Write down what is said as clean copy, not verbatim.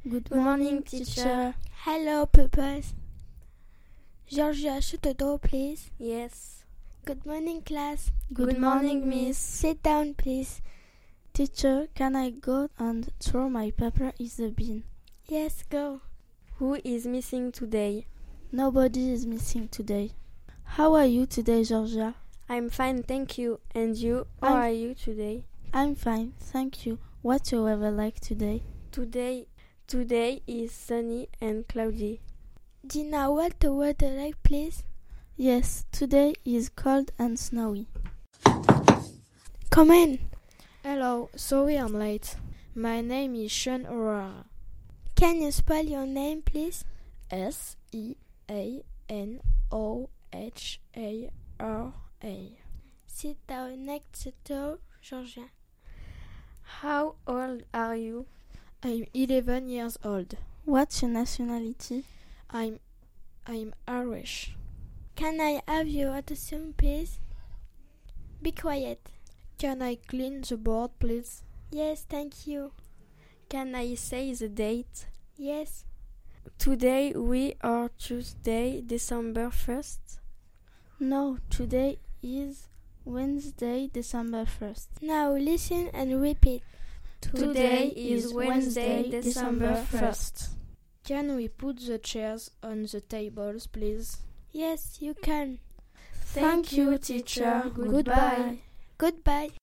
Good morning, teacher. Hello, pupils. Georgia, shut the door, please. Yes. Good morning, class. Good morning, miss. Sit down, please. Teacher, can I go and throw my paper in the bin? Yes, go. Who is missing today? Nobody is missing today. How are you today, Georgia? I'm fine, thank you. And you? How are you today? I'm fine, thank you. What's your weather like today? Today is sunny and cloudy. Gina, what's the weather like, please? Yes, today is cold and snowy. Come in. Hello, sorry I'm late. My name is Sean O'Hara. Can you spell your name, please? Seanohara. Sit down next to Georgia. How old are you? I'm 11 years old. What's your nationality? I'm Irish. Can I have your attention, please? Be quiet. Can I clean the board, please? Yes, thank you. Can I say the date? Yes. Today we are Tuesday, December 1st. No, today is Wednesday, December 1st. Now listen and repeat. Today is Wednesday, December 1st. Can we put the chairs on the tables, please? Yes, you can. Thank you, teacher. Goodbye. Goodbye.